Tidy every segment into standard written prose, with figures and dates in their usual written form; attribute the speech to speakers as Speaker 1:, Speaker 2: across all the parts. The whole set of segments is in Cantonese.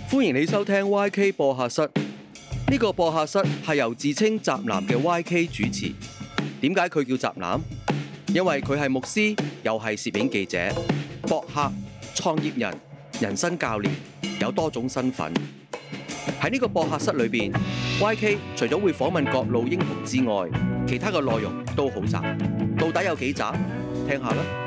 Speaker 1: 歡迎你收聽 YK 播客室。呢個播客室係由自稱宅男嘅 YK 主持。點解佢叫宅男？因為佢係牧師，又係攝影記者、博客、創業人、人生教練，有多種身份。喺呢個播客室裏邊，YK 除咗會訪問各路英雄之外，其他嘅內容都好雜。到底有幾雜？聽下啦。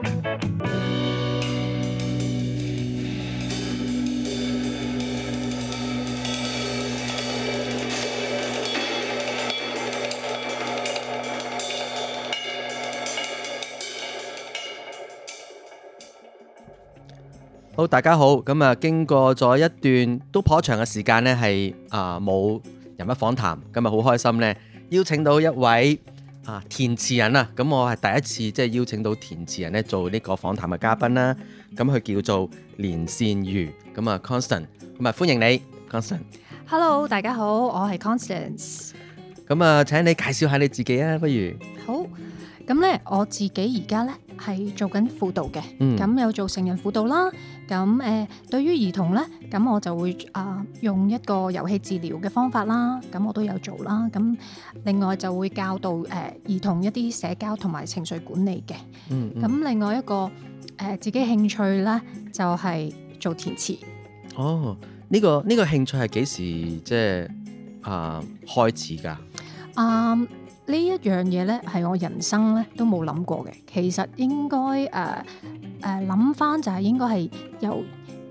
Speaker 1: 好，大家好。咁啊，經過咗一段都頗長嘅時間呢，係冇人物訪談。今日好開心呢，邀請到一位填詞人啊。咁我係第一次即係邀請到填詞人呢做呢個訪談嘅嘉賓啦。咁佢叫做連線瑜。咁啊 Constance， 咁啊歡迎你 Constance。
Speaker 2: Hello， 大家好，我係 Constance。
Speaker 1: 咁啊，請你介紹下你自己啊，不如？
Speaker 2: 好，咁咧我自己而家咧係做緊輔導嘅，咁有做成人輔導啦。咁對於兒童咧，咁我就會用一個遊戲治療嘅方法啦，咁我都有做啦。咁另外就會教導兒童一啲社交同埋情緒管理嘅。咁另外一個自己興趣咧就係做填詞。
Speaker 1: 哦，呢個興趣係幾時即係開始㗎？
Speaker 2: 呢一樣嘢咧係我人生咧都冇諗過嘅。其實應該諗翻就係應該係由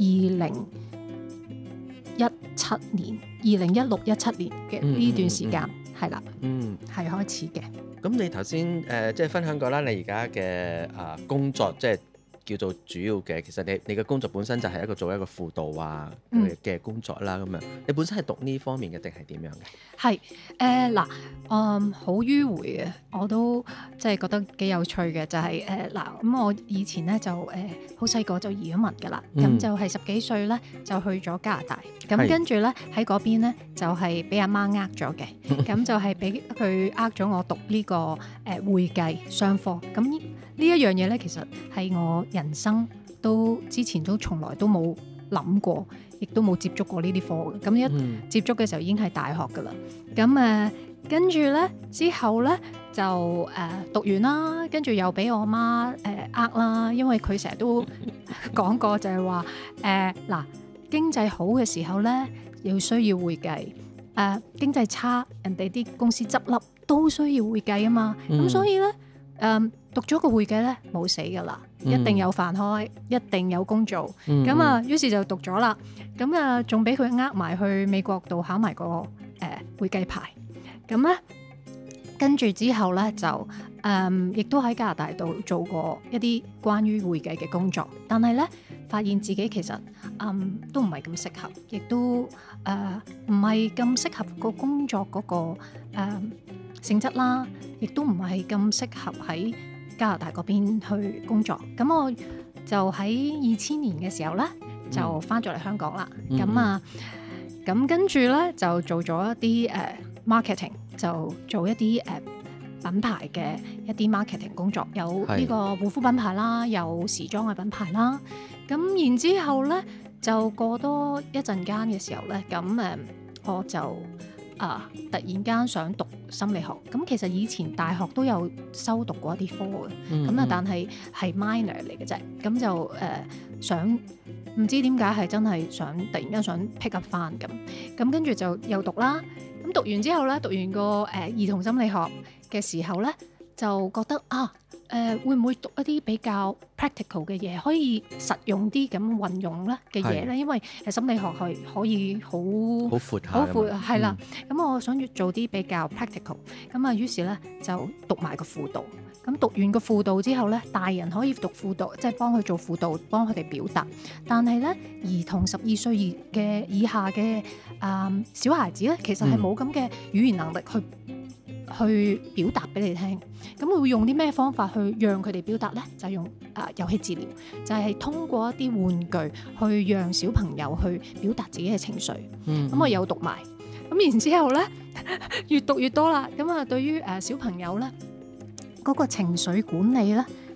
Speaker 2: 2016、17年嘅呢段時間係啦，係開始嘅。
Speaker 1: 咁你頭先即係分享過啦，你而家嘅工作即係叫做主要嘅，其實你嘅工作本身就係做一個輔導嘅工作啦。咁樣你本身係讀呢方面嘅定係點樣嘅？
Speaker 2: 係好迂迴嘅，我都即係覺得幾有趣嘅，就係咁我以前咧就好細個就移咗民㗎啦，咁就係10幾歲咧就去咗加拿大，咁跟住咧喺嗰邊咧就係俾阿媽呃咗嘅，咁就係俾佢呃咗我讀呢個會計商科。咁呢一樣嘢咧其實係我人生之前都從來都冇諗過，亦都冇接觸過呢啲科嘅。咁一接觸嘅時候已經係大學㗎啦。咁跟住咧之後咧就讀完啦，跟住又俾我媽啦，因為佢成日都講過就係話經濟好嘅時候咧要需要會計，經濟差人哋啲公司執笠都需要會計啊嘛。咁所以咧讀咗個會計咧冇死㗎啦，一定有飯開，一定有工做。咁於是就讀咗啦。咁仲俾佢埋去美國度考埋個會計牌。咁咧跟住之後咧就亦都喺加拿大度做過一啲關於會計嘅工作，但係咧發現自己其實都唔係咁適合，亦都唔係咁適合個工作嗰個性質啦，亦都唔係咁適合喺加拿大嗰邊去工作。咁我就喺2000年嘅時候咧就翻咗嚟香港啦。咁跟住咧就做咗一啲marketing， 就做一啲品牌嘅一啲 marketing 工作，有呢個護膚品牌啦，有時裝嘅品牌啦。咁然之後咧就過多一陣間嘅時候咧，咁我就突然間想讀心理學。咁其實以前大學都有修讀過一啲科嘅，咁但係 minor 嚟嘅啫。咁就想唔知點解係真係突然間想 pick up 翻咁跟住就又讀啦。咁讀完之後咧，讀完個兒童心理學嘅時候咧，就覺得會唔會讀一啲比較 practical 嘅嘢，可以實用啲咁運用咧嘅嘢咧？因為心理學係可以好闊係啦。咁我想做啲比較 practical。咁於是咧就讀埋個輔導。咁讀完個輔導之後咧，大人可以讀輔導，即係幫佢做輔導，幫佢哋表達。但係咧，兒童12歲以下嘅小孩子咧，其實係冇咁嘅語言能力去表達俾你聽。咁會用啲咩方法去讓佢哋表達咧？就係用遊戲治療，就係通過一啲玩具去讓小朋友去表達自己嘅情緒。咁我有讀埋。咁然之後咧，越讀越多啦。咁對於小朋友咧，嗰個情緒管理咧，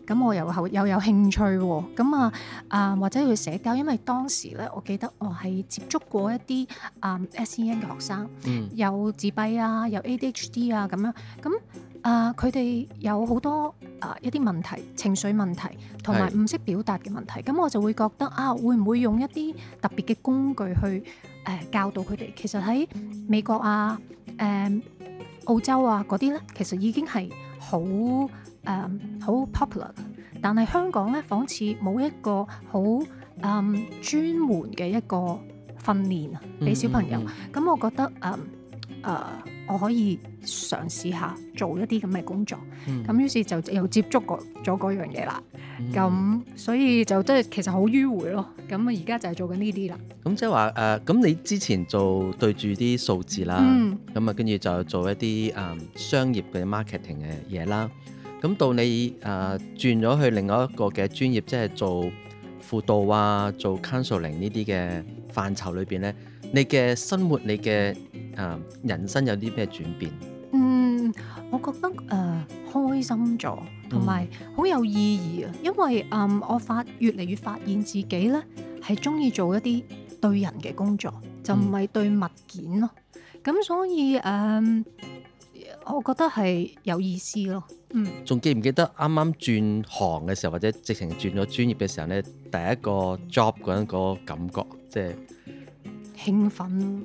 Speaker 2: 咁我又有興趣喎，咁或者去社交，因為當時咧，我記得我係接觸過一啲SEN 嘅學生，有自閉啊，有 ADHD 啊咁樣，咁佢哋有好多一啲問題，情緒問題，同埋唔識表達嘅問題，咁我就會覺得會唔會用一啲特別嘅工具去教導佢哋？其實喺美國啊、澳洲啊嗰啲咧，其實已經係好 popular， 但係香港咧，仿似冇一個好專門嘅一個訓練俾小朋友。咁我覺得我可以嘗試下做一啲咁嘅工作。咁於是就又接觸過咗嗰樣嘢啦。咁所以就真係其實好迂迴咯。咁而家就係做緊呢啲啦。
Speaker 1: 咁即係話咁你之前做對住啲數字啦，咁跟住就做一啲商業嘅 marketing 嘅嘢啦。咁到你轉咗去另外一個嘅專業，即係做輔導啊、做 counseling 呢啲嘅範疇裏邊咧，你嘅生活、你嘅人生有啲咩轉變？
Speaker 2: 我覺得開心咗，同埋好有意義啊！因為我越嚟越發現自己咧係中意做一啲對人嘅工作，就唔係對物件咯。咁所以我覺得係有意思咯。
Speaker 1: 仲記唔記得啱啱轉行嘅時候，或者直情轉咗專業嘅時候咧，第一個 job 嗰陣個感覺，即係
Speaker 2: 興奮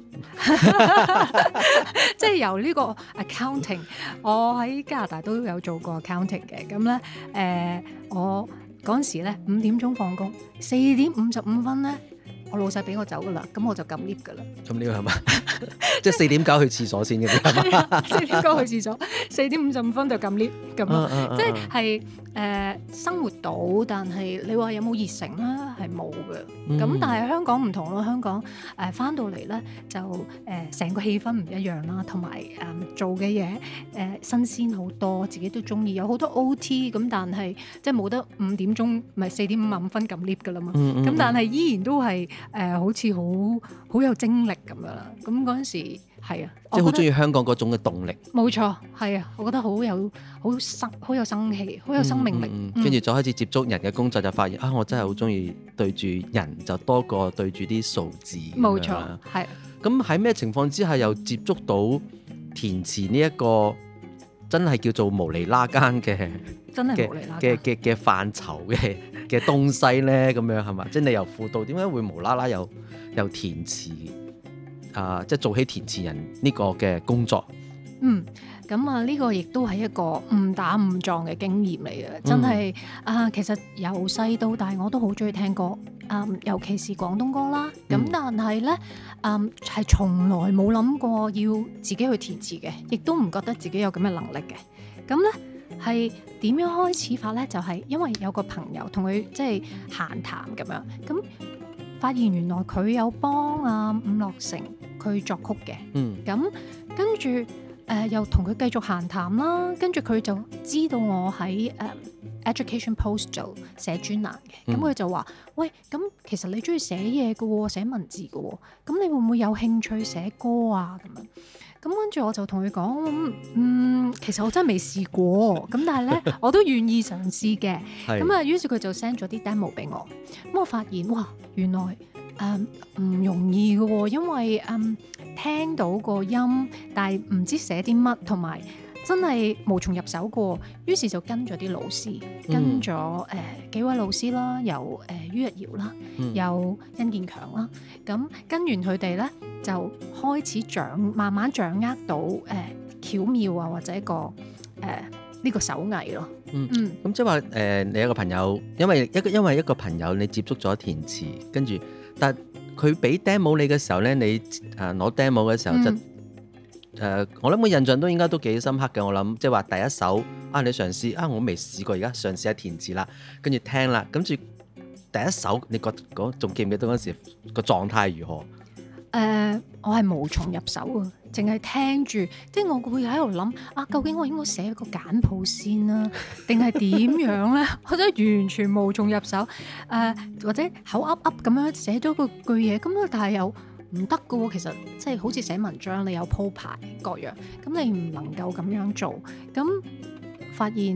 Speaker 2: 即係由呢個 accounting， 我喺加拿大都有做過 accounting 嘅。咁咧我嗰陣時咧5點鐘放工，4點55分咧，我老細俾我走噶啦，咁我就撳 lift 噶啦。咁
Speaker 1: 呢個係嘛？即係4點9去廁所先嘅係嘛
Speaker 2: ？4點9去廁所，4點55分就撳 lift 咁咯。即係生活到，但係你話有冇熱誠咧？係冇嘅。咁但係香港唔同咯，香港翻到嚟咧就成個氣氛唔一樣啦，同埋做嘅嘢新鮮好多，自己都中意，有好多 OT 咁，但係即係冇得5點鐘唔係4點55分撳 lift 噶啦嘛。咁但係依然都係好似好有精力咁樣啦。咁嗰陣時係啊，
Speaker 1: 即係好中意香港嗰種嘅動力。
Speaker 2: 冇錯，係啊，我覺得好有生氣，好有生命力。
Speaker 1: 跟住就開始接觸人嘅工作，就發現我真係好中意對住人，就多過對住啲數字。
Speaker 2: 冇錯，係。
Speaker 1: 咁喺咩情況之下又接觸到填詞呢一個真係叫做無厘啦間嘅嘅範疇嘅東西咧？咁樣係嘛？即係你由輔導點解會無啦啦又填詞？即係做起填詞人呢個嘅工作。
Speaker 2: 咁呢個亦都係一個誤打誤撞嘅經驗嚟嘅，真係其實由細到大我都好中意聽歌，尤其是廣東歌啦。咁但係咧係從來冇諗過要自己去填詞嘅，亦都唔覺得自己有咁嘅能力嘅。咁咧係點樣開始法咧？就係因為有個朋友同佢即係閒談咁樣，咁發現原來佢有幫伍樂城佢作曲嘅。咁跟住又同佢繼續閒談啦，跟住佢就知道我喺Education Post 做寫專欄嘅。咁佢就話：喂，咁其實你中意寫嘢嘅喎，寫文字嘅喎，咁你會唔會有興趣寫歌啊？咁樣。咁跟住我就同佢講，其實我真係未試過，咁但係咧我都願意嘗試嘅。咁於是佢就 send 咗啲 demo 俾我。咁我發現哇，原來唔容易嘅喎，因為聽到個音，但係唔知寫啲乜，同埋真係無從入手過。於是就跟咗啲老師，跟咗幾位老師啦，有于日堯啦，有殷建強啦。咁跟完佢哋咧，就開始慢慢掌握到巧妙啊，或者呢個手藝咯。
Speaker 1: 咁即係話你有個朋友，因為一個朋友你接觸咗填詞，跟住但佢俾 demo 你嘅時候咧，你攞 demo 嘅時候我諗個印象都應該都幾深刻嘅。我諗即係話第一首你嘗試我未試過，而家嘗試下填詞啦，跟住聽啦，跟住第一首你覺得仲記唔記得嗰時個狀態如何？
Speaker 2: 我係無從入手啊，淨係聽住，即係我會喺度諗究竟我應該寫一個簡譜先啦，定係點樣咧？我真係完全無從入手。或者口噏噏咁樣寫咗個句嘢，咁但係又唔得㗎喎。其實即係好似寫文章，你有鋪排各樣，咁你唔能夠咁樣做。咁發現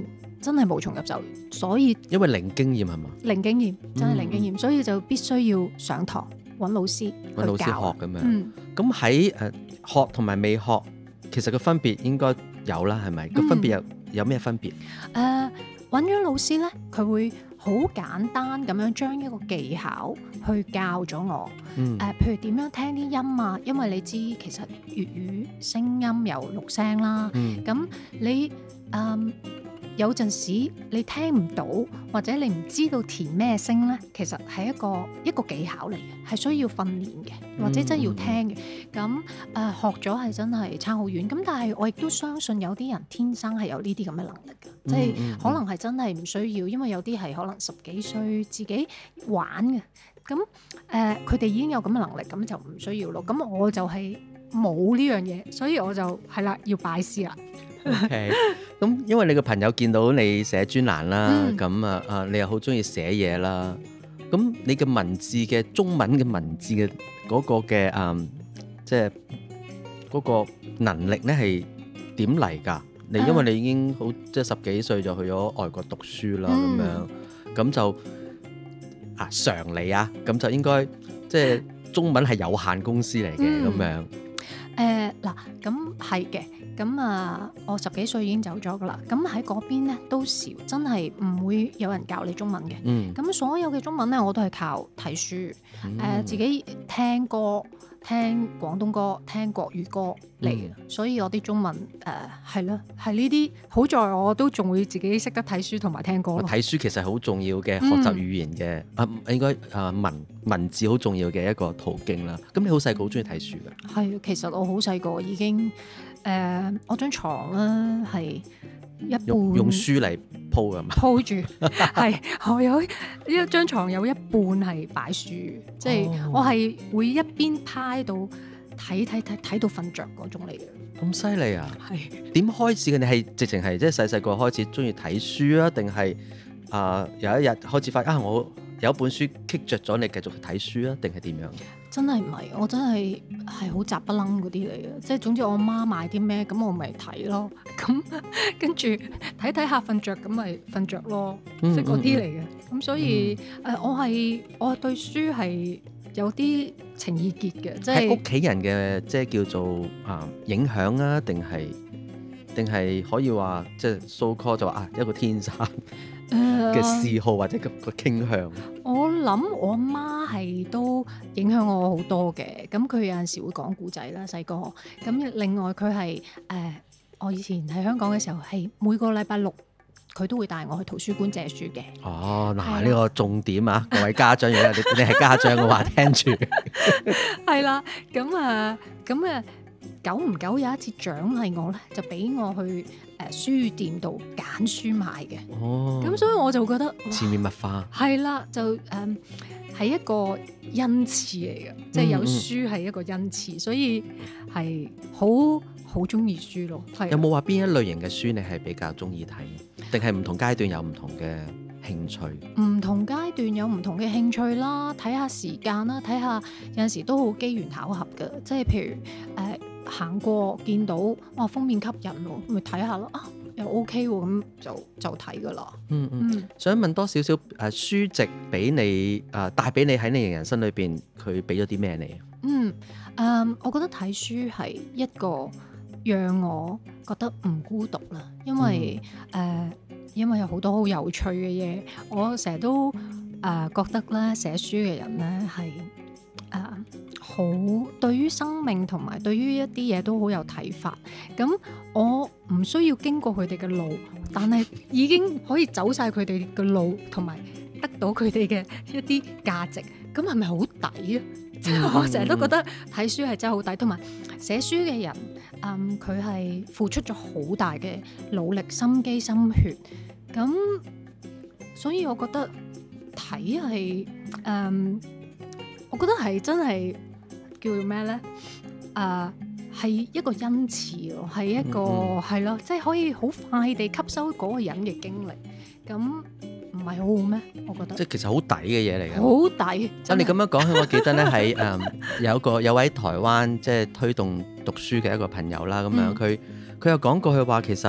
Speaker 2: 真係無從入手，所以
Speaker 1: 因為零經驗係嘛？
Speaker 2: 零經驗真係零經驗，所以就必須要上堂揾老師去教
Speaker 1: 學咁樣。咁喺學同埋未學，其實個分別應該有啦，係咪？個分別有咩分別？
Speaker 2: 揾咗老師咧，佢會好簡單咁樣將一個技巧去教咗我。譬如點樣聽啲音啊，因為你知其實粵語聲音有6聲啦。咁你有陣時你聽唔到，或者你唔知道填咩聲咧，其實係一個技巧嚟嘅，係需要訓練嘅，或者真係要聽嘅。咁學咗係真係差好遠。咁但係我亦都相信有啲人天生係有呢啲咁嘅能力嘅，即係可能係真係唔需要，因為有啲係可能10幾歲自己玩嘅。咁佢哋已經有咁嘅能力，咁就唔需要咯。咁我就係冇呢樣嘢，所以我就係啦，要拜師啦。
Speaker 1: OK， 咁因為你個朋友見到你寫專欄啦，咁你又好中意寫嘢啦，咁你嘅文字嘅中文嘅文字嘅嗰個嘅即係嗰個能力咧係點嚟㗎？你因為你已經好即係10幾歲就去咗外國讀書啦，咁就常理啊，咁就應該即係中文係有限公司嚟嘅咁樣。
Speaker 2: 嗱，咁係嘅。咁我10幾歲已經走咗噶啦。咁喺嗰邊咧都少，真係唔會有人教你中文嘅。咁所有嘅中文咧，我都係靠睇書，自己聽歌、聽廣東歌、聽國語歌嚟嘅。所以我啲中文係咯，係呢啲。好在我都仲會自己識得睇書同埋聽歌咯。睇
Speaker 1: 書其實好重要嘅學習語言嘅，應該文字好重要嘅一個途徑啦。咁你好細個好中意睇書㗎？係，
Speaker 2: 其實我好細個已經。我張床咧係一半
Speaker 1: 用書嚟鋪㗎嘛，
Speaker 2: 鋪住係我有一張床有一半係擺書，即係我係會一邊趴喺度睇到瞓着嗰種嚟嘅。
Speaker 1: 咁犀利啊！
Speaker 2: 係點
Speaker 1: 開始嘅？你係直情係即係細個開始中意睇書啊？定係有一日開始發現我有一本書棘着咗，你繼續去睇書啊？定係點樣？
Speaker 2: 真係唔係，我真係好雜不楞嗰啲嚟嘅，即係總之我媽買啲咩，咁我咪睇咯，咁跟住睇下瞓着，咁咪瞓着咯，即係嗰啲嚟嘅。咁所以我對書係有啲情意結嘅，即係屋
Speaker 1: 企人嘅即係叫做影響啊，定係可以話即係 so call 就話一個天生嘅嗜好或者個傾向。
Speaker 2: 我諗我媽係都影響我好多嘅，咁佢有陣時會講故仔啦，細個。咁另外佢係我以前喺香港嘅時候係每個禮拜6佢都會帶我去圖書館借書嘅。
Speaker 1: 嗱呢個重點啊，各位家長，如果你係家長嘅話，聽住。
Speaker 2: 係啦，咁久唔久有一次獎勵我咧，就俾我去書店度揀書買嘅。咁所以我就覺得
Speaker 1: 潛移默化
Speaker 2: 係啦，就係一個恩賜嚟嘅，即係有書係一個恩賜，所以係好中意書咯。
Speaker 1: 有冇話邊一類型嘅書你係比較中意睇，定係唔同階段有唔同嘅興趣？
Speaker 2: 唔同階段有唔同嘅興趣啦，睇下時間啦，睇下有陣時都好機緣巧合嘅，即係譬如行過見到哇封面吸引喎，咪睇下咯，又 OK 喎，咁就睇噶啦。
Speaker 1: 想問多少少書籍俾你帶俾你喺你人生裏邊，佢俾咗啲咩你？
Speaker 2: 我覺得睇書係一個讓我覺得唔孤獨啦，因為有好多好有趣嘅嘢，我成日都覺得咧寫書嘅人咧係好對於生命同埋對於一啲嘢都好有睇法。咁我唔需要經過佢哋嘅路，但係已經可以走晒佢哋嘅路，同埋得到佢哋嘅一啲價值。咁係咪好抵啊？即係我成日都覺得睇書係真係好抵，同埋寫書嘅人，佢係付出咗好大嘅努力、心機、心血。咁所以我覺得睇係我覺得係真係叫做咩咧？係一個恩賜咯，係一個係咯，即係可以好快地吸收嗰個人嘅經歷。咁唔係好好咩？我覺得
Speaker 1: 即係其實好抵嘅嘢嚟嘅，
Speaker 2: 好抵。
Speaker 1: 你咁樣講起，我記得咧喺有位台灣即係推動讀書嘅一個朋友啦，咁樣佢又講過佢話其實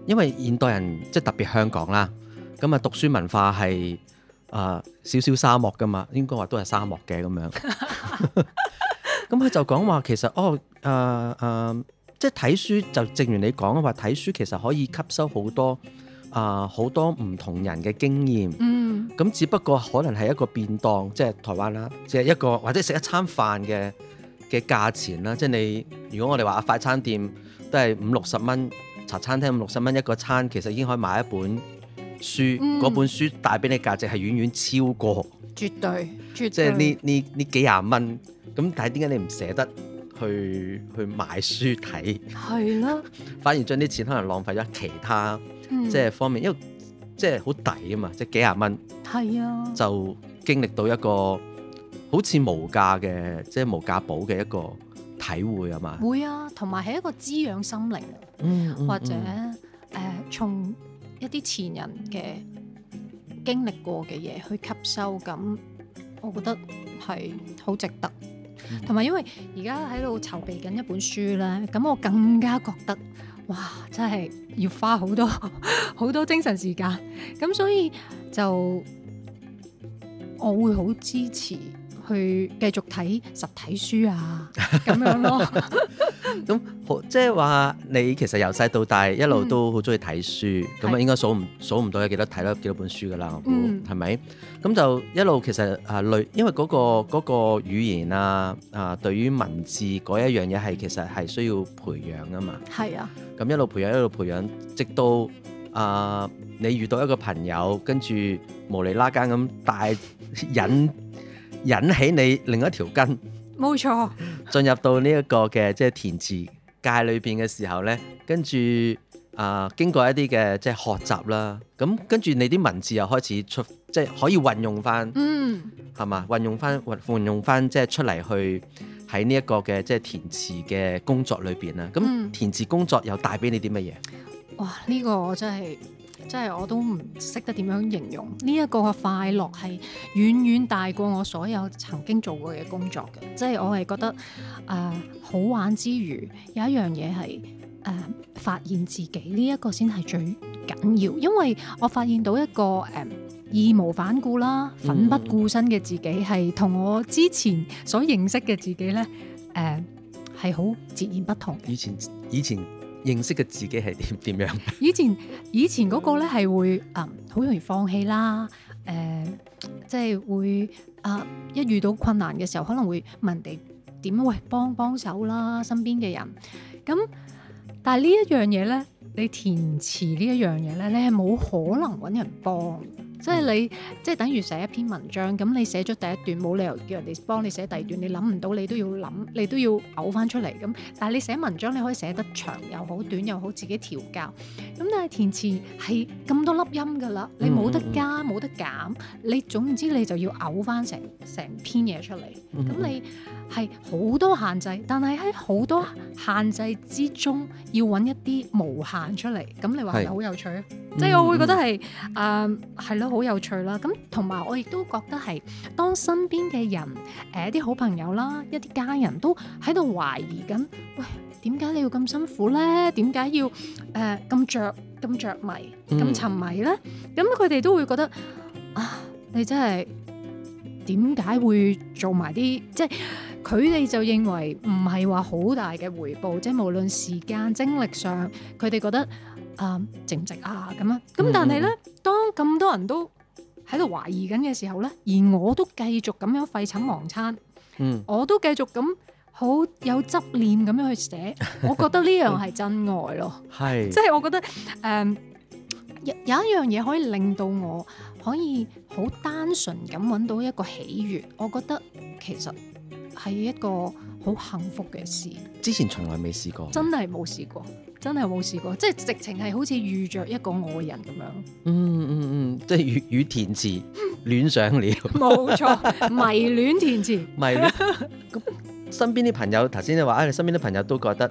Speaker 1: 因為現代人即係特別香港啦，咁啊讀書文化係少少沙漠噶嘛，應該話都係沙漠嘅咁樣。咁佢就講話其實即係睇書就正如你講話，睇書其實可以吸收好多唔同人嘅經驗。咁只不過可能係一個便當，即係台灣啦，即係一個或者食一餐飯嘅價錢啦。即係你如果我哋話快餐店都係50-60蚊，茶餐廳50-60蚊一個餐，其實已經可以買一本書。嗰本書帶俾你價值係遠遠超過，
Speaker 2: 絕對，
Speaker 1: 即係呢幾廿蚊。咁但係點解你唔捨得去買書睇？係啦，反而將啲錢可能浪費咗其他即係方面，因為即係好抵啊嘛，即係幾廿蚊，係啊，就經歷到一個好似無價嘅，即係無價寶嘅一個體會啊嘛。會啊，同埋係一個滋養心靈，或者從一啲前人嘅經歷過嘅嘢去吸收，咁我覺得係好值得。同埋因為而家喺度籌備緊一本書咧，咁我更加覺得哇，真係要花好多精神時間，咁所以就我會好支持去繼續睇實體書啊，咁樣咯。咁即係話你其實由細到大一路都好中意睇書，咁啊應該數唔到有幾多睇咗幾多本書噶啦，我估係咪？咁就一路其實因為嗰個語言對於文字嗰一樣嘢係其實係需要培養啊嘛。係啊。咁一路培養，直到你遇到一個朋友，跟住無厘啦更咁引起你另一條筋。冇錯，進入到呢一個嘅即係填詞界裏邊嘅時候呢，跟住經過一啲嘅即係學習啦，咁跟住你啲文字又開始即係可以運用翻，係嘛？運用翻即係出嚟去喺呢一個嘅即係填詞嘅工作裏邊啦。咁填詞工作又帶俾你啲乜嘢？哇！呢個我真係我都唔識得點樣形容，呢一個嘅快樂係遠遠大過我所有曾經做過嘅工作嘅，即係我係覺得好玩之餘，有一樣嘢係發現自己呢一個先係最緊要，因為我發現到一個義無反顧啦、奮不顧身嘅自己，係同我之前所認識嘅自己呢係好截然不同嘅。以前認識嘅自己係點樣？以前嗰個咧係會好容易放棄啦，即係會一遇到困難嘅時候，可能會問人哋點喂幫手啦，身邊嘅人。咁但係呢一樣嘢咧，你填詞呢一樣嘢咧，你係冇可能揾人幫。即係你，即係等於寫一篇文章，咁你寫咗第一段，冇理由叫人哋幫你寫第二段，你諗唔到，你都要諗，你都要嘔翻出嚟咁。但係你寫文章，你可以寫得長又好，短又好，自己調教。咁但係填詞係咁多粒音㗎啦，你冇得加冇得減，你總之你就要嘔翻成篇嘢出嚟。咁你係好多限制，但係喺好多限制之中，要揾一啲無限出嚟。咁你話係好有趣啊？即係我會覺得係係咯，好有趣啦。咁同埋我亦都覺得係當身邊嘅人一啲好朋友啦，一啲家人都喺度懷疑緊，喂，點解你要咁辛苦咧？點解要咁着迷咁沉迷咧？咁佢哋都會覺得你真係點解會做埋啲，即係佢哋就認為唔係話好大嘅回報，即係無論時間精力上，佢哋覺得值唔值啊咁啊？咁但係咧，當咁多人都喺度懷疑緊嘅時候咧，而我都繼續咁樣廢寢忘餐，我都繼續咁好有執念咁樣去寫，我覺得呢樣係真愛咯。係，即係我覺得有一樣嘢可以令到我可以好單純咁揾到一個喜悅，我覺得其實係一個好幸福嘅事。之前從來未試過，真係冇試過，即係直情係好似遇着一個愛人咁樣。即係與填詞戀上了。冇錯，迷戀填詞。咁身邊啲朋友，頭先你話你身邊啲朋友都覺得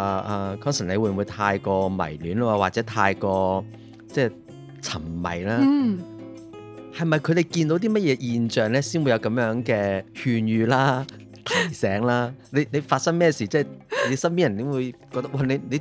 Speaker 1: Conson 你會唔會太過迷戀咯，或者太過即係沉迷啦？係咪佢哋見到啲乜嘢現象咧，先會有咁樣嘅勸喻啦、提醒啦？你發生咩事？即係你身邊人點會覺得哇？你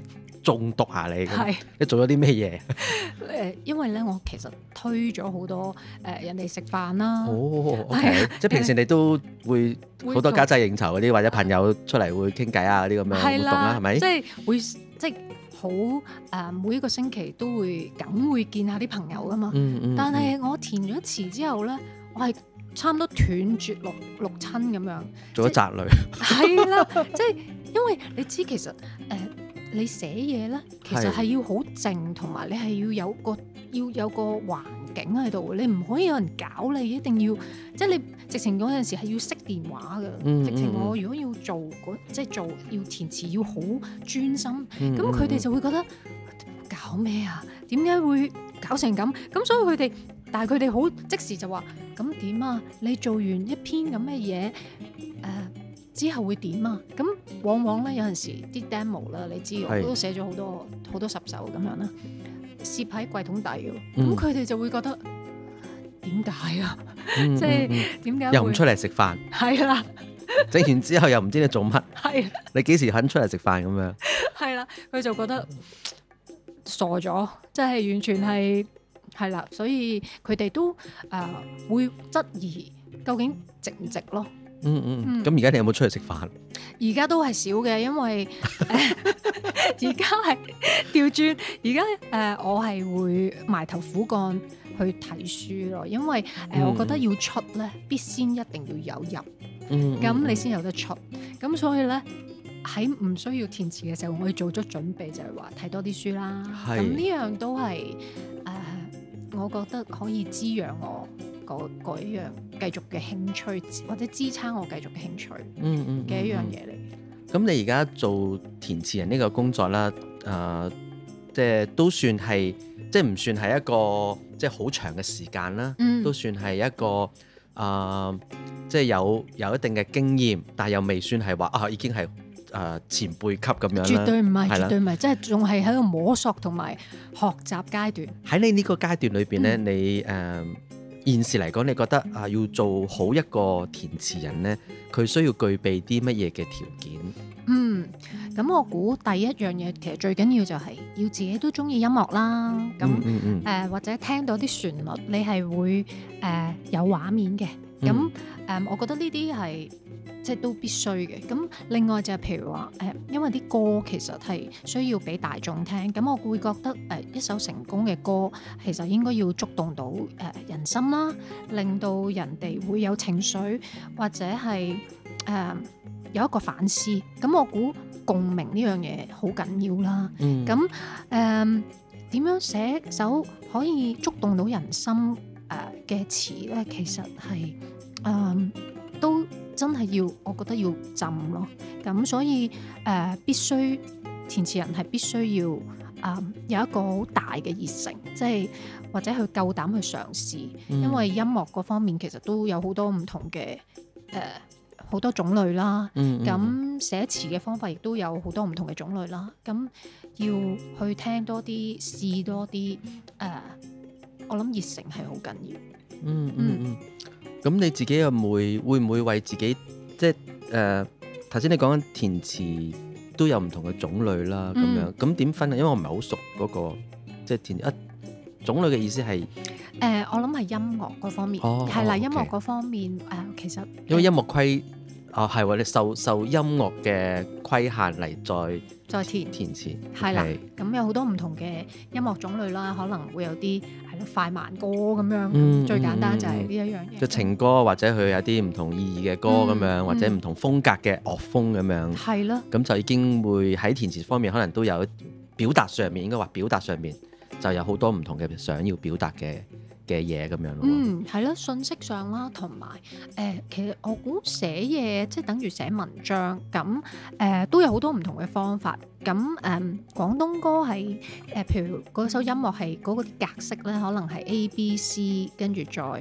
Speaker 3: 中毒下你咁，
Speaker 2: 係
Speaker 3: 你做咗啲咩嘢？
Speaker 2: 因為咧我其實推咗好多人哋食飯啦。
Speaker 3: 哦
Speaker 2: 係
Speaker 3: ，OK，即係平時你都會
Speaker 2: 會
Speaker 3: 好多家際應酬嗰啲，或者朋友出嚟會傾偈啊嗰啲咁樣活動啦，係咪
Speaker 2: 即？係會即係好每一個星期都會梗會見下啲朋友噶嘛。但係我填咗詞之後咧，我係差唔多斷絕六親咁樣。
Speaker 3: 做咗宅女。
Speaker 2: 係啦，即係因為你知其實你寫嘢咧，其實係要好靜，同埋你係要有個環境喺度，你唔可以有人搞你，一定要即係你直情嗰陣時係要熄電話㗎。直情我如果要即係做要填詞要好專心，咁佢哋就會覺得搞咩啊？點解會搞成咁？咁所以但係佢哋好即時就話：咁點啊？你做完一篇咁嘅嘢，之後會點啊？咁往往咧有陣時啲 demo 啦，你知我都寫咗好多十首咁樣啦，攝喺櫃桶底嘅，咁佢哋就會覺得點解啊？即係點解
Speaker 3: 又唔出嚟食飯？
Speaker 2: 係啦，
Speaker 3: 整完之後又唔知你做乜？
Speaker 2: 係
Speaker 3: 你幾時肯出嚟食飯咁樣？
Speaker 2: 係啦，佢就覺得傻咗，即係完全係啦，所以佢哋都會質疑究竟值唔值咯。
Speaker 3: 咁而家你有冇出去食飯？
Speaker 2: 而家都係少嘅，因為而家係調轉，而家我係會埋頭苦幹去睇書咯，因為我覺得要出咧，必先一定要有入，咁你先有得出。咁所以咧喺唔需要填詞嘅時候，我要做足準備，就係話睇多啲書啦。咁呢樣都係我覺得可以滋養我嗰一樣繼續嘅興趣，或者支撐我繼續嘅興趣嘅一樣嘢嚟。
Speaker 3: 咁你而家做填詞人呢個工作啦，即係都算係，即係唔算係一個即係好長嘅時間啦，都算係一個即係有一定嘅經驗，但係又未算係話已經係前輩級咁樣啦。
Speaker 2: 絕對唔係，絕對唔係，即係仲係喺度摸索同埋學習階段。
Speaker 3: 喺你呢個階段裏邊咧，你現時嚟講，你覺得要做好一個填詞人咧，佢需要具備啲乜嘢嘅條件？
Speaker 2: 咁我估第一樣嘢其實最緊要就係要自己都中意音樂啦。咁或者聽到啲旋律，你係會有畫面嘅。咁我覺得呢啲係即係都必須嘅。咁另外就係譬如話因為啲歌其實係需要俾大眾聽，咁我會覺得一首成功嘅歌其實應該要觸動到人心啦，令到人哋會有情緒，或者係有一個反思。咁我估共鳴呢樣嘢好緊要啦。咁點樣寫首可以觸動到人心嘅詞咧？其實係都真係要，我覺得要浸咯。咁所以必須填詞人係必須要有一個好大嘅熱誠，即係或者佢夠膽去嘗試。因為音樂嗰方面其實都有好多唔同嘅好多種類啦。咁寫詞嘅方法亦都有好多唔同嘅種類啦。咁要去聽多啲，試多啲。我諗熱誠係好緊要。
Speaker 3: 咁你自己又會唔會為自己即係頭先你講緊填詞都有唔同嘅種類啦，咁樣咁點分啊？因為我唔係好熟嗰個即係填種類嘅意思係
Speaker 2: 我諗係音樂嗰方面係啦，音樂嗰方面其實
Speaker 3: 因為音樂規係喎，你受音樂嘅規限嚟再填詞
Speaker 2: 係啦。咁有好多唔同嘅音樂種類啦，可能會有啲係咯快慢歌咁樣。最簡單就係呢一樣嘢，
Speaker 3: 就情歌或者佢有啲唔同意義嘅歌咁樣，或者唔同風格嘅樂風咁樣。係咯。咁就已經會喺填詞方面，可能都有表達上面，應該話表達上面就有好多唔同嘅想要表達嘅嘢咁樣咯。
Speaker 2: 係咯，信息上啦，同埋其實我估寫嘢即係等於寫文章咁，都有好多唔同嘅方法。咁廣東歌係譬如嗰首音樂係嗰個格式咧，可能係 A B C，跟住再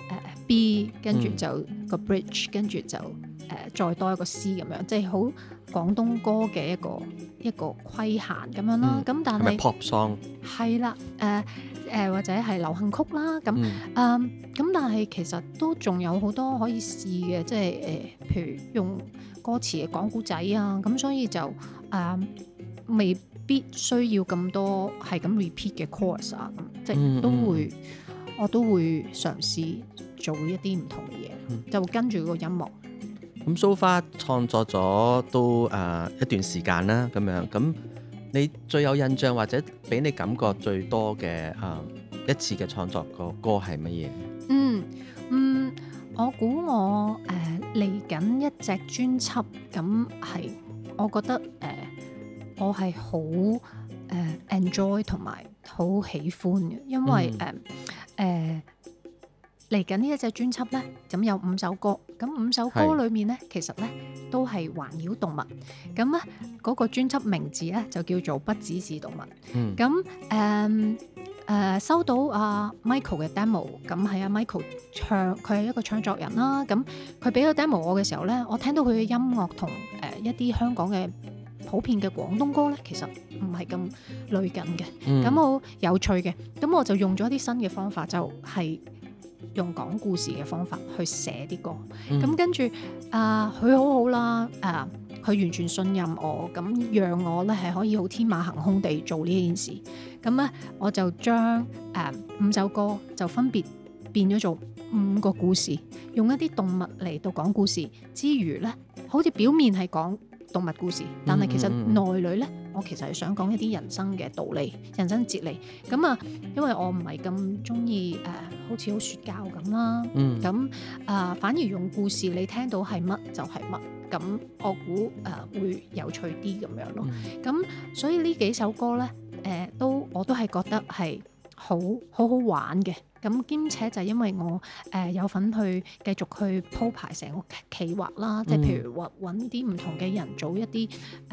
Speaker 2: B，跟住就個 bridge，跟住就再多一個 C 咁樣，即係好廣東歌嘅一個規限咁樣啦。咁但係
Speaker 3: 係咪 pop song？係
Speaker 2: 啦，或者係流行曲啦。咁但係其實都仲有好多可以試嘅，即係譬如用歌詞嚟講故仔啊。咁所以就未必須要咁多係咁 repeat 嘅 course 啊，咁即係我都會嘗試做一啲唔同嘅嘢，就跟住個音樂。
Speaker 3: 咁 so far 創作咗都一段時間啦，咁樣咁你最有印象或者俾你感覺最多嘅一次嘅創作個歌係乜嘢？
Speaker 2: 我估我嚟緊一隻專輯，咁係我覺得我係好enjoy 同埋好喜歡嘅，因為嚟緊呢一隻專輯咧，咁有5首歌，咁5首歌裏面咧，其實咧都係環繞動物，咁咧嗰個專輯名字咧就叫做不只是動物，咁收到阿 Michael 嘅 demo， 咁係阿 Michael 唱，佢係一個唱作人啦，咁佢俾個 demo 我嘅時候咧，我聽到佢嘅音樂同一啲香港嘅普遍嘅廣東歌咧，其實唔係咁類近嘅，咁好有趣嘅，咁我就用咗啲新嘅方法，就係用講故事嘅方法去寫啲歌，咁跟住佢好好啦，佢完全信任我，咁讓我咧係可以好天馬行空地做呢件事，咁咧我就將5首歌就分別變咗做5個故事，用一啲動物嚟到講故事之餘咧，好似表面係講動物故事，但係其實內裏咧，我其實係想講一啲人生嘅道理、人生哲理。咁因為我唔係咁中意好似好說教咁啦，咁反而用故事你聽到係乜就係乜，咁我估會有趣啲咁樣咯。咁所以呢幾首歌咧，我都係覺得係好好玩嘅。咁兼且就係因為我有份去繼續去鋪排成個企劃啦，即係譬如話揾啲唔同嘅人做一啲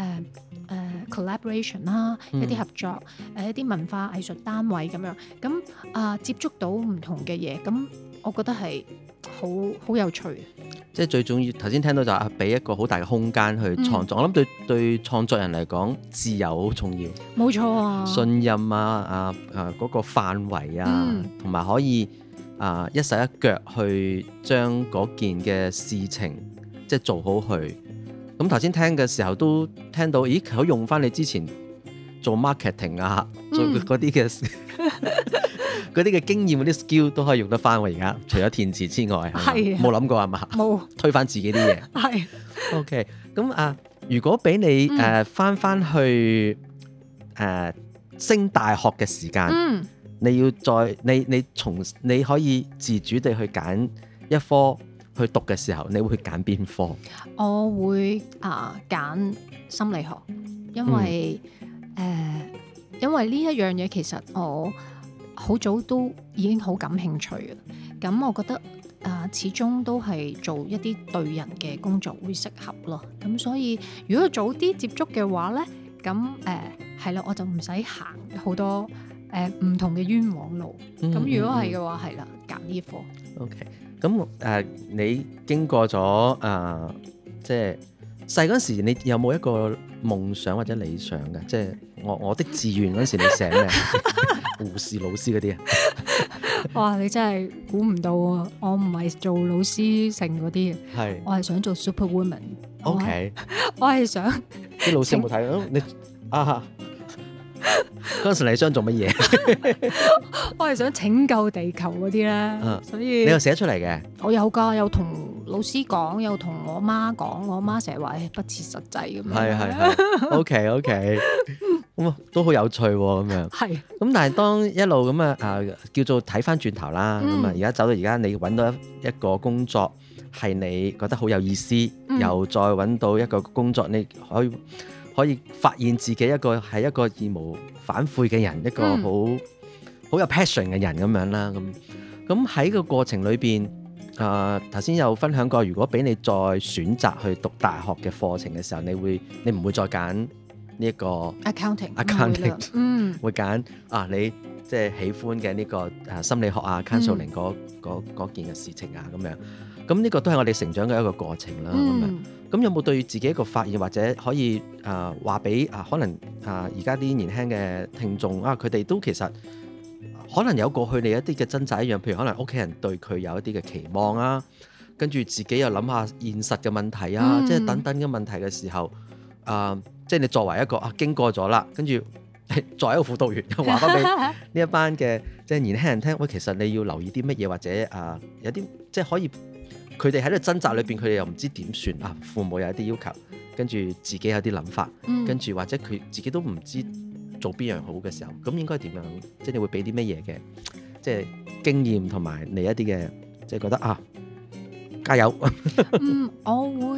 Speaker 2: collaboration 啦，一啲合作，一啲文化藝術單位咁樣，咁接觸到唔同嘅嘢，咁我覺得係好有趣。
Speaker 3: 即係最重要，頭先聽到就俾一個好大嘅空間去創作，我諗對創作人嚟講，自由好重要。冇錯啊，信任嗰個範圍同埋可以一手一腳去將嗰件嘅事情即係做好佢。咁頭先聽嘅時候都聽到，咦，佢用翻你之前做 marketing 做嗰啲嘅嗰啲嘅經驗，嗰啲 skill 都可以用得翻喎。而家除咗填詞之外，冇諗過係嘛？冇推翻自己啲嘢。係 OK。咁如果俾你翻去升大學嘅時間，你要你可以自主地去揀一科去讀嘅時候，你會去揀邊科？
Speaker 2: 我會揀心理學，因為呢一樣嘢其實我好早都已經好感興趣嘅，咁我覺得始終都係做一啲對人嘅工作會適合咯。咁所以如果早啲接觸嘅話咧，咁係啦，我就唔使行好多唔同嘅冤枉路。咁如果係嘅話，係啦，揀呢科。
Speaker 3: OK。咁你經過咗即係細嗰時，你有冇一個夢想或者理想嘅？即係我的志願嗰時，你寫咩？護士、老師嗰啲啊？
Speaker 2: 哇！你真係估唔到啊！我唔係做老師成嗰啲嘅，我係想做 Superwoman。OK， 我係想
Speaker 3: 啲老師有冇睇？你嗰陣時你想做乜嘢？
Speaker 2: 我係想拯救地球嗰啲咧，所以
Speaker 3: 你又寫出嚟嘅？我有㗎，
Speaker 2: 有同老師講，有同我媽講，我媽成日話不切實際咁樣。
Speaker 3: 係 OK， 咁都好有趣喎，咁樣。係。咁但係當一路咁叫做睇翻轉頭啦，咁而家走到而家，你揾到一個工作係你覺得好有意思，又再揾到一個工作，你可以發現自己係一個義無反悔嘅人，一個好有 passion 嘅人咁樣啦。咁喺個過程裏邊，頭先有分享過，如果俾你再選擇去讀大學嘅課程嘅時候，你唔會再揀呢一個 accounting， 會揀你即係喜歡嘅呢個心理學counseling 嗰件嘅事情咁樣。咁呢個都係我哋成長嘅一個過程啦。咁有冇對自己一個發現，或者可以話俾可能而家啲年輕嘅聽眾佢哋都其實可能有過去你一啲嘅掙扎一樣，譬如可能屋企人對佢有一啲嘅期望跟住自己又諗下現實嘅問題即係等等嘅問題嘅時候， 即係你作為一個經過咗啦，跟住作為一個輔導員，又話翻俾呢一班嘅即係年輕人聽，喂，其實你要留意啲乜嘢，或者有啲即係可以佢哋喺度掙扎裏邊，佢哋又唔知點算啊，父母有一啲要求，跟住自己有啲諗法，跟住或者佢自己都唔知做邊樣好嘅時候，咁應該點樣？即係你會俾啲乜嘢嘅即係經驗同埋你一啲嘅即係覺得加油。
Speaker 2: 我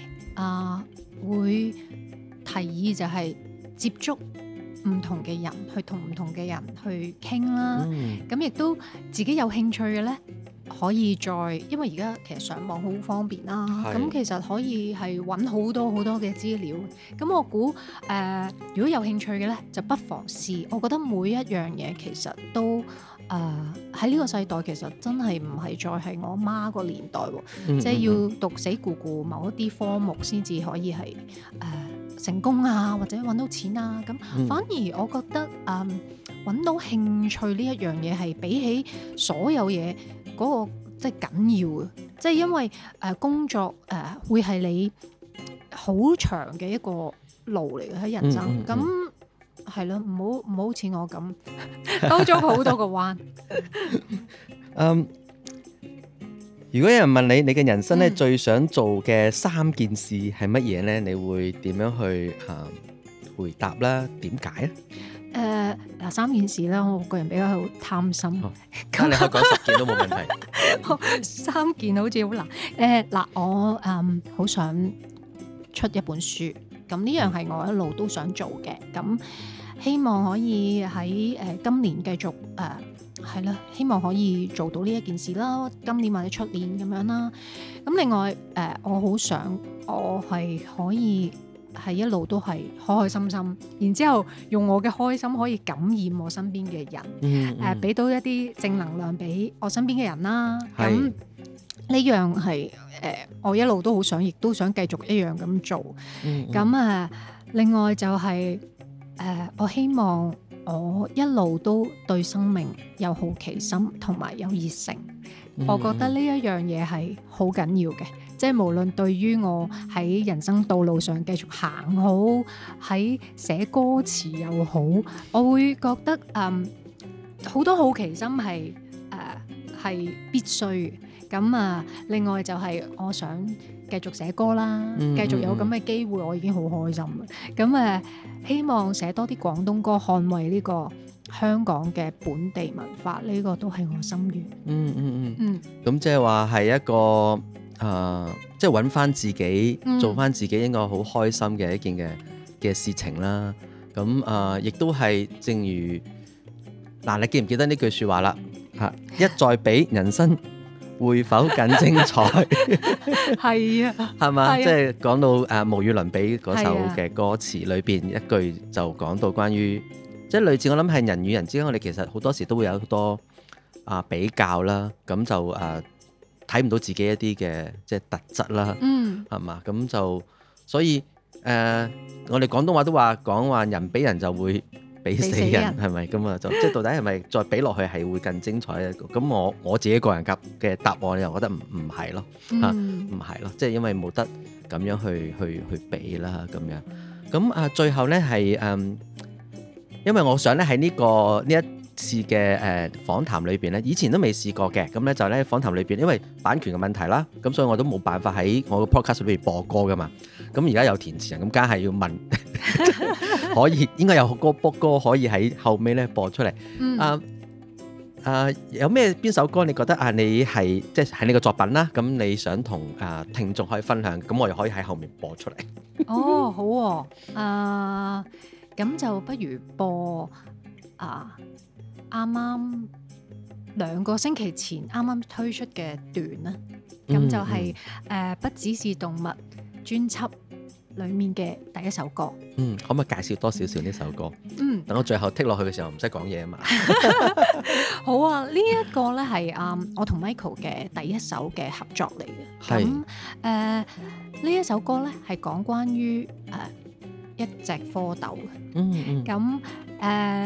Speaker 2: 會提議就係接觸唔同嘅人，去同唔同嘅人去傾啦。咁亦都自己有興趣嘅咧，可以再，因為而家其實上網好方便啦。咁其實可以係揾好多好多嘅資料。咁我估如果有興趣嘅咧，就不妨試。我覺得每一樣嘢其實都喺呢個世代其實真係唔係再係我媽個年代喎，即係要讀死咕咕某一啲科目先至可以係成功啊，或者揾到錢啊。咁反而我覺得揾到興趣呢一樣嘢係比起所有嘢嗰個即係緊要嘅，即係因為工作會係你好長嘅一個路嚟嘅喺人生。咁係咯，唔好似我咁兜咗好多個彎。
Speaker 3: 如果有人問你嘅人生咧最想做嘅3件事係乜嘢咧？你會點樣去回答啦？點解咧
Speaker 2: ？3件事啦，我個人比較貪心。
Speaker 3: 咁你可以講10件都冇問題。
Speaker 2: 3件好似好難。我好想出一本書，咁呢樣係我一路都想做嘅。咁希望可以喺今年繼續係啦，希望可以做到呢一件事啦，今年或者出年咁樣啦。咁另外我好想我係可以係一路都係開開心心，然之後用我嘅開心可以感染我身邊嘅人，俾到一啲正能量俾我身邊嘅人啦。咁呢樣係我一路都好想，亦都想繼續一樣咁做。咁另外就係我希望我一路都對生命有好奇心同埋有熱誠。我覺得呢一樣嘢係好緊要嘅，即係無論對於我喺人生道路上繼續行好，喺寫歌詞又好，我會覺得好多好奇心係必須嘅。咁另外就係我想繼續寫歌啦，繼續有咁嘅機會，我已經好開心啦。咁希望寫多啲廣東歌，捍衛呢個香港嘅本地文化，呢個都係我心願。
Speaker 3: 咁即係話係一個即係揾翻自己，做翻自己應該好開心嘅一件嘅事情啦。咁亦都係正如你記唔記得呢句説話啦？一再比人生會否更精彩？
Speaker 2: 係啊，
Speaker 3: 係嘛？即係講到無與倫比嗰首嘅歌詞裏邊一句就講到關於即係類似，我諗係人與人之間，我哋其實好多時都會有好多比較啦，咁就睇唔到自己一啲嘅即係特質啦，係嘛？咁就所以我哋廣東話都講話人比人就會比死人，係咪咁啊？就即係到底係咪再比落去係會更精彩咧？咁我自己個人嘅答案又覺得唔係咯，唔係咯，即係因為冇得咁樣去比啦咁樣。咁最後咧係因為我想咧喺呢一次嘅訪談裏邊咧，以前都未試過嘅，咁咧就咧訪談裏邊，因為版權嘅問題啦，咁所以我都冇辦法喺我個 podcast 裏邊播歌噶嘛。咁而家有填詞人，咁梗係要問，可以應該有歌可以喺後尾咧播出嚟。有邊首歌你覺得你係即係你個作品啦？咁你想同聽眾可以分享，咁我又可以喺後面播出嚟。
Speaker 2: 哦，好喎，咁就不如播啱啱2個星期前啱啱推出嘅段啦。咁就係不只是動物專輯裡面嘅第一首歌。
Speaker 3: 可唔可以介紹多少少呢首歌？等我最後剔落去嘅時候唔使講嘢啊嘛。
Speaker 2: 好啊，呢一個咧係我同 Michael 嘅第一首嘅合作嚟嘅。咁呢一首歌咧係講關於一隻蝌蚪嘅。咁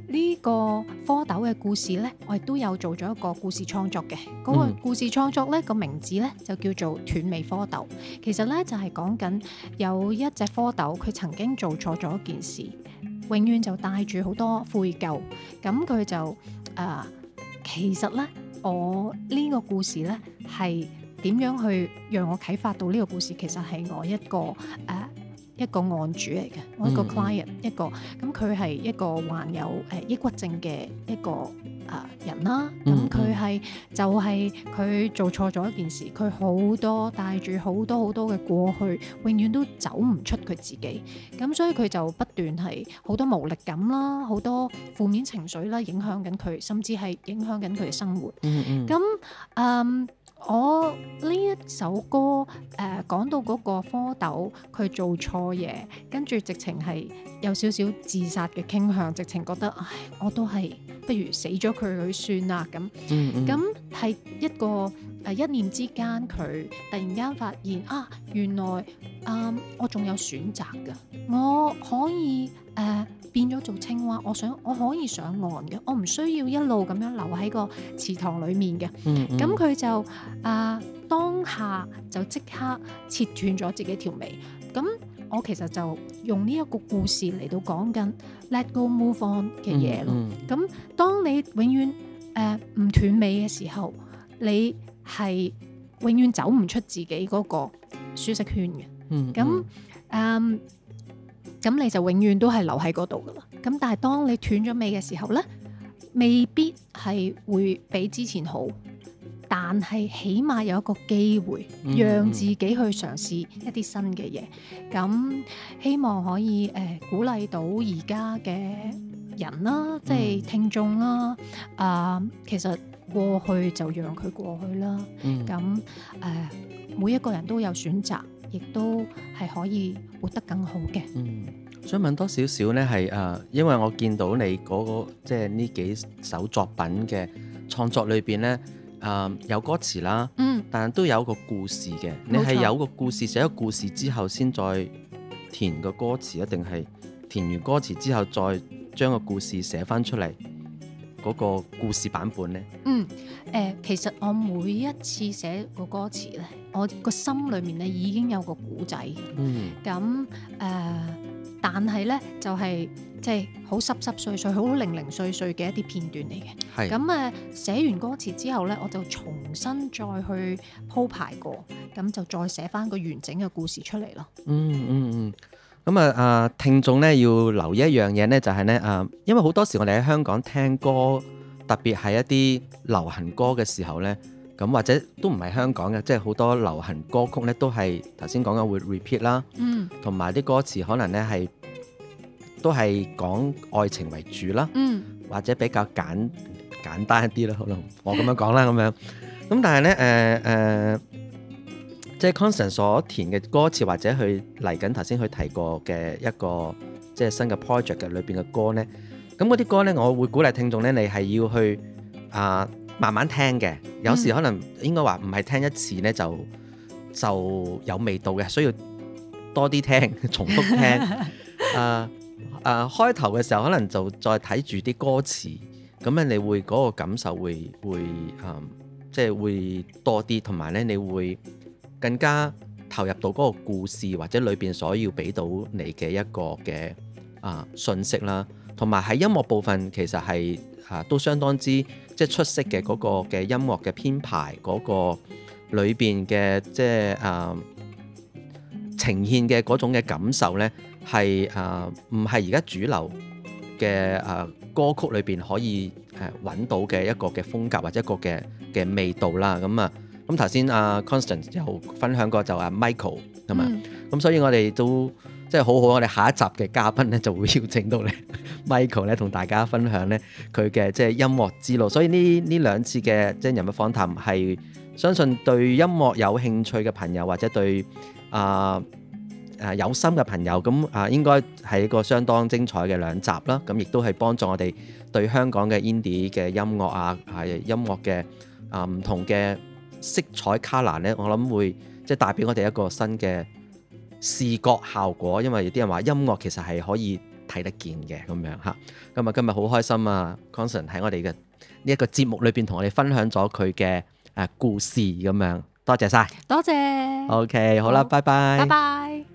Speaker 2: 呢個蝌蚪嘅故事呢，我亦都有做咗一個故事創作嘅。嗰個故事創作呢個名字呢，就叫做斷尾蝌蚪。其實呢，就係講緊有一隻蝌蚪，佢曾經做錯咗一件事，永遠就帶住好多悔疚。咁佢就其實呢，我呢個故事呢，係點樣去讓我啟發到呢個故事？其實係我一個案主嚟嘅，我一個 client 一個，咁佢係一個患有抑鬱症嘅一個人啦。咁佢就係佢做錯咗一件事，佢好多帶住好多嘅過去，永遠都走唔出佢自己。咁所以佢就不斷係好多無力感啦，好多負面情緒啦，影響緊佢，甚至係影響緊佢嘅生活。咁我呢一首歌講到嗰個蝌蚪佢做錯嘢，跟住直情係有少少自殺嘅傾向，直情覺得唉，我都係不如死咗佢算啦咁。咁係一個一念之間，佢突然間發現原來我仲有選擇㗎，我可以變咗做青蛙，我可以上岸嘅，我唔需要一路咁樣留喺個池塘裡面嘅。咁佢就當下就即刻切斷咗自己條尾。咁我其實就用呢一個故事嚟到講緊 let go move on 嘅嘢咯。咁當你永遠唔斷尾嘅時候，你係永遠走唔出自己嗰個舒適圈嘅。咁你就永遠都係留喺嗰度噶啦。咁但係當你斷咗尾嘅時候呢，未必係會比之前好，但係起碼有一個機會，讓自己去嘗試一啲新嘅嘢。咁希望可以鼓勵到而家嘅人啦，即係聽眾啦。其實過去就讓佢過去啦。咁每一個人都有選擇，亦都係可以活得更好嘅。
Speaker 3: 想問多少少呢？係因為我見到你嗰個即係呢幾首作品嘅創作裏邊呢，有歌詞啦，但係都有個故事嘅。你係有個故事，寫個故事之後先再填個歌詞，一定係填完歌詞之後再將個故事寫翻出嚟嗰個故事版本呢？
Speaker 2: 其實我每一次寫個歌詞呢，我個心裏面呢已經有個故仔。咁但係呢，就係即係好濕濕碎碎、好零零碎碎嘅一啲片段嚟嘅。咁寫完歌詞之後呢，我就重新再去鋪排過，咁就再寫翻個完整嘅故事出嚟咯。
Speaker 3: 咁聽眾呢要留意一樣嘢呢，就係呢，因為好多時我哋喺香港聽歌，特別係一啲流行歌嘅時候呢，咁或者都唔係香港嘅，即係好多流行歌曲呢都係頭先講嘅會 repeat 啦，同埋啲歌詞可能呢都係講愛情為主啦，或者比較簡單一啲啦，可能我咁樣講啦咁樣。咁但係呢，即係 Constance 所填嘅歌詞，或者佢嚟緊頭先佢提過嘅一個即係新嘅 project 嘅裏邊嘅歌呢，咁嗰啲歌呢，我會鼓勵聽眾呢，你係要去慢慢聽嘅。有時可能應該話唔係聽一次呢就有味道嘅，需要多啲聽，重複聽。開頭嘅時候可能就再睇住啲歌詞，咁樣你會嗰個感受會即係會多啲，同埋呢你會更加投入到嗰個故事或者裏邊所要俾到你嘅一個嘅信息啦。同埋喺音樂部分其實係都相當之即係出色嘅，嗰個嘅音樂嘅編排，嗰個裏邊嘅即係呈現嘅嗰種嘅感受呢，係唔係而家主流嘅歌曲裏邊可以揾到嘅一個嘅風格或者一個嘅味道啦。咁頭先Constance 有分享過就Michael 係嘛，咁所以我哋都即係好好，我哋下一集嘅嘉賓呢就會邀請到你 Michael 咧同大家分享呢佢嘅即係音樂之路。所以呢兩次嘅即係人物訪談係相信對音樂有興趣嘅朋友或者對有心嘅朋友咁應該係一個相當精彩嘅兩集啦。咁亦都係幫助我哋對香港嘅 indie 嘅音樂音樂嘅唔同嘅色彩 colour 呢，我諗會即係帶俾我哋一個新嘅視覺效果。因為有啲人話音樂其實係可以睇睇得見嘅咁樣嚇。咁啊，今日好開心啊，Conson 喺我哋嘅呢一個節目裏邊同我哋分享咗佢嘅故事咁樣，多謝晒，
Speaker 2: 多謝。
Speaker 3: OK， 好啦，拜拜，
Speaker 2: 拜拜。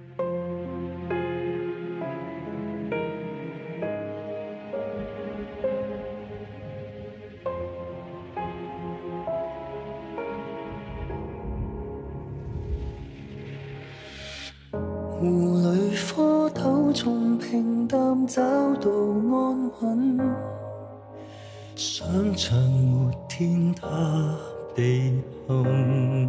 Speaker 4: 湖裏蝌蚪從平淡找到安穩，想像沒天塌地陷，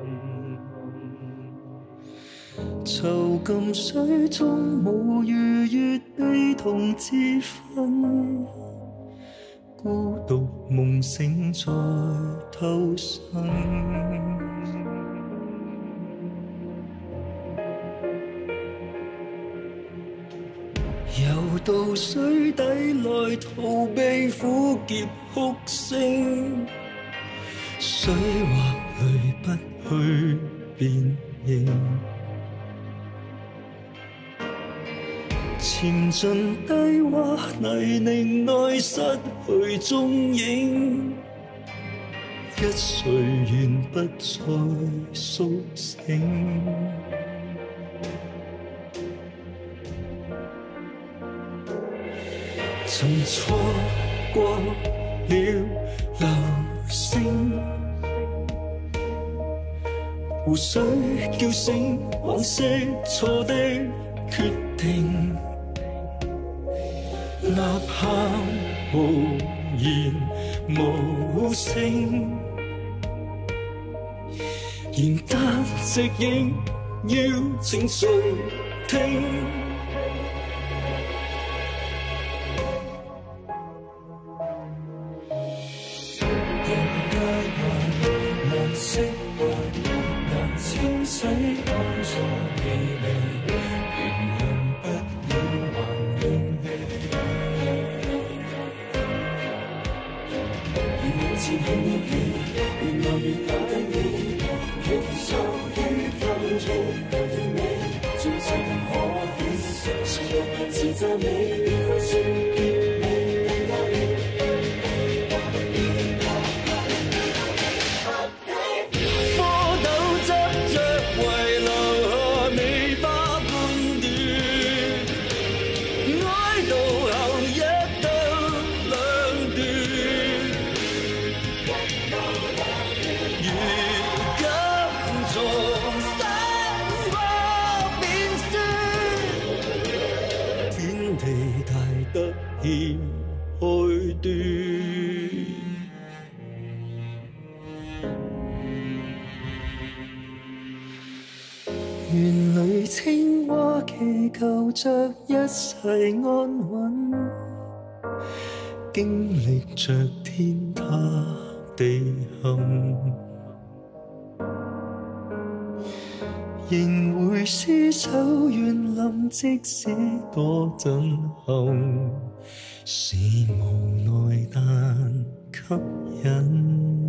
Speaker 4: 囚禁水中無逾越悲痛之分，孤獨夢醒再偷生。游到水底來逃避苦澀哭聲，水或淚不去辨認，潛進低洼泥濘內失去蹤影，一睡願不再甦醒。曾錯過了流星，湖水叫醒往昔錯的決定，吶喊無言無聲，然單隻影要靜垂聽。園裏青蛙祈求着一世安穩，經歷着天塌地陷，仍會廝守園林，即使多震撼，是無奈但吸引。